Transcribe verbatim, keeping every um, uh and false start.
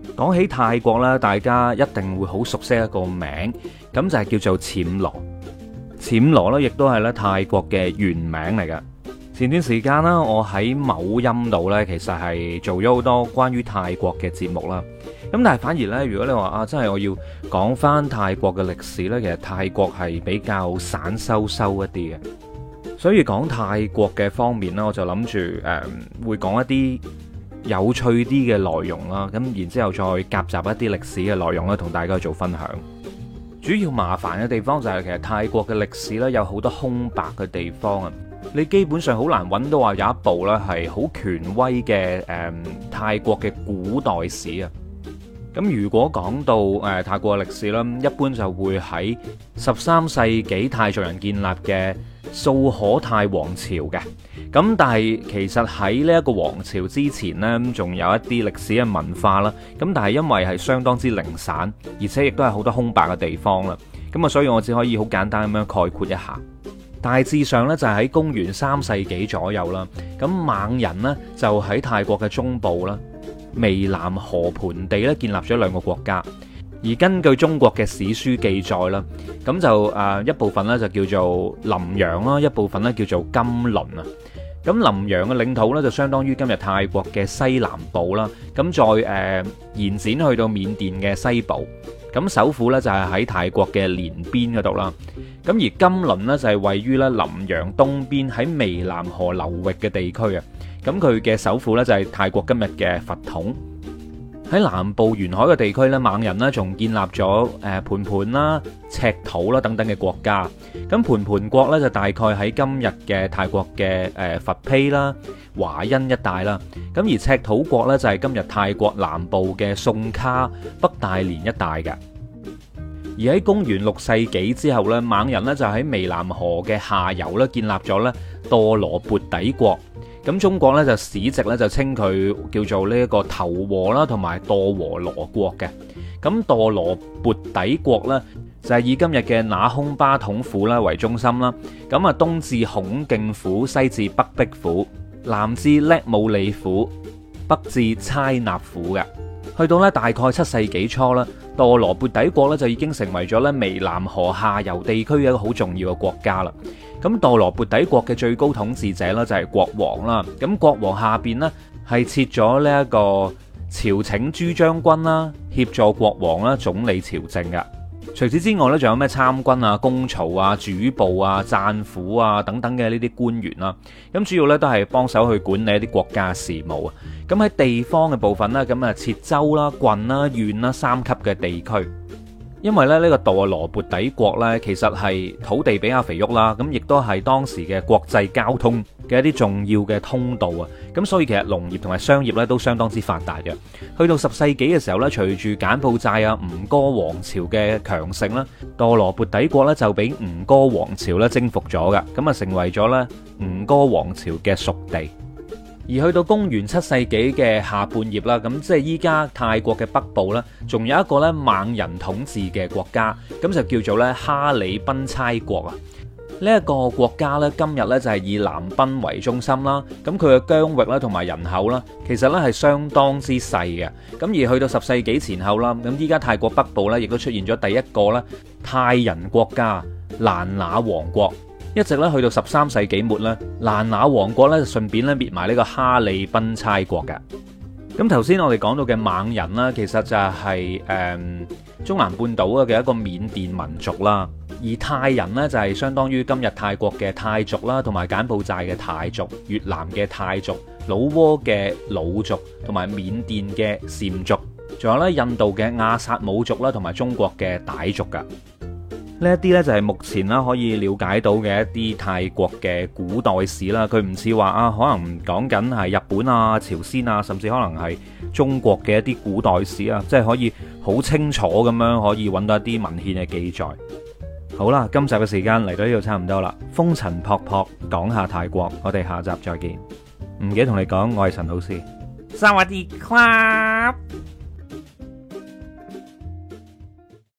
講起泰國咧，大家一定會好熟悉一個名，咁就係叫做暹羅。暹羅咧，亦都係咧泰國嘅原名嚟㗎。前段時間啦，我喺某音度呢，其實係做咗好多關於泰國嘅節目啦。咁但係反而呢，如果你話啊，真係我要講翻泰國嘅歷史呢，其實泰國係比較散收收一啲嘅。所以講泰國嘅方面呢，我就諗住誒會講一啲有趣啲嘅內容啦。咁然之後再夾雜一啲歷史嘅內容啦，同大家去做分享。主要麻煩嘅地方就係其實泰國嘅歷史呢，有好多空白嘅地方啊。你基本上好難揾到話有一部咧係好權威嘅誒、嗯、泰國嘅古代史啊。咁如果講到誒、呃、泰國嘅歷史啦，一般就會喺十三世紀泰族人建立嘅素可泰王朝嘅。咁但係其實喺呢一個王朝之前呢，仲有一啲歷史嘅文化啦。咁但係因為係相當之零散，而且亦都係好多空白嘅地方啦。咁啊，所以我只可以好簡單咁樣概括一下。大致上咧就係喺公元三世紀左右啦，咁猛人呢，就喺泰國嘅中部啦，湄南河盆地咧建立咗兩個國家。而根據中國嘅史書記載啦，咁就誒一部分咧就叫做臨陽啦，一部分咧叫做金輪啊。咁臨陽嘅領土咧就相當於今日泰國嘅西南部啦，咁再誒、呃、延展去到緬甸嘅西部。咁首府咧就係喺泰國嘅連邊嗰度啦。咁而金輪呢，就係位於咧臨陽東邊喺湄南河流域嘅地區啊。咁佢嘅首府咧就係泰國今日嘅佛統。喺南部沿海嘅地區咧，猛人呢仲建立咗誒盤盤啦、赤土啦等等嘅國家。咁盤盤國咧就大概喺今日嘅泰國嘅誒佛披啦、華欣一帶啦。咁而赤土國咧就係今日泰國南部嘅宋卡、北大連一帶嘅。而喺公元六世紀之後咧，猛人咧就喺湄南河嘅下游咧建立咗咧墮羅缽底國。咁中國咧就史籍咧就稱佢叫做呢一個頭和啦，同埋墮和羅國嘅。咁墮羅缽底國咧就係以今日嘅那空巴統府啦為中心啦。咁啊東至孔敬府，西至北壁府，南至叻姆里府，北至差納府嘅。去到咧大概七世紀初啦，墮羅缽底國咧就已經成為咗咧湄南河下游地區嘅一個好重要嘅國家啦。咁墮羅缽底國嘅最高統治者咧就係國王啦。咁國王下邊呢係設咗呢一個朝請朱將軍啦，協助國王啦總理朝政嘅。除此之外咧，仲有咩參軍啊、公曹啊、主簿啊、贊府啊等等嘅呢啲官員啦。咁主要咧都係幫手去管理一啲國家事務啊。咁喺地方嘅部分咧，咁啊設州啦、郡啦、縣啦三級嘅地區。因為咧呢個墮羅缽底國呢，其實係土地比較肥沃啦，咁亦都係當時嘅國際交通嘅一啲重要嘅通道啊，咁所以其實農業同埋商業呢都相當之發達嘅。去到十世紀嘅時候呢，隨住柬埔寨啊吳哥王朝嘅強盛啦，墮羅缽底國呢就俾吳哥王朝咧征服咗㗎，咁啊成為咗咧吳哥王朝嘅屬地。而去到公元七世紀嘅下半葉啦，咁即係依家泰國嘅北部呢，仲有一個咧猛人統治嘅國家，咁就叫做咧哈里賓差國啊。呢、這、一個國家呢，今日呢就係以南賓為中心啦，咁佢嘅疆域啦同埋人口啦，其實呢係相當之細嘅。咁而去到十世紀前後啦，咁依家泰國北部呢，亦都出現咗第一個咧泰人國家蘭那王國。一直咧去到十三世紀末咧，蘭那王國咧就順便咧滅埋呢個哈利賓差國嘅。咁頭先我哋講到嘅猛人啦，其實就係、是、誒、嗯、中南半島嘅一個緬甸民族啦。而泰人呢，就係相當於今日泰國嘅泰族啦，同埋柬埔寨嘅泰族、越南嘅泰族、老撾嘅魯族，同埋緬甸嘅撣族，仲有咧印度嘅亞薩姆族啦，同埋中國嘅傣族噶。呢一啲呢，就係目前啦可以了解到嘅一啲泰國嘅古代史啦，佢唔似話啊，可能講緊係日本啊、朝鮮啊，甚至可能係中國嘅一啲古代史啊，即係可以好清楚咁樣可以揾到一啲文獻嘅記載。好啦，今集嘅時間嚟到呢度差唔多啦，風塵僕僕講下泰國，我哋下集再見。唔記得同你講，我係陳老師。 薩瓦迪卡。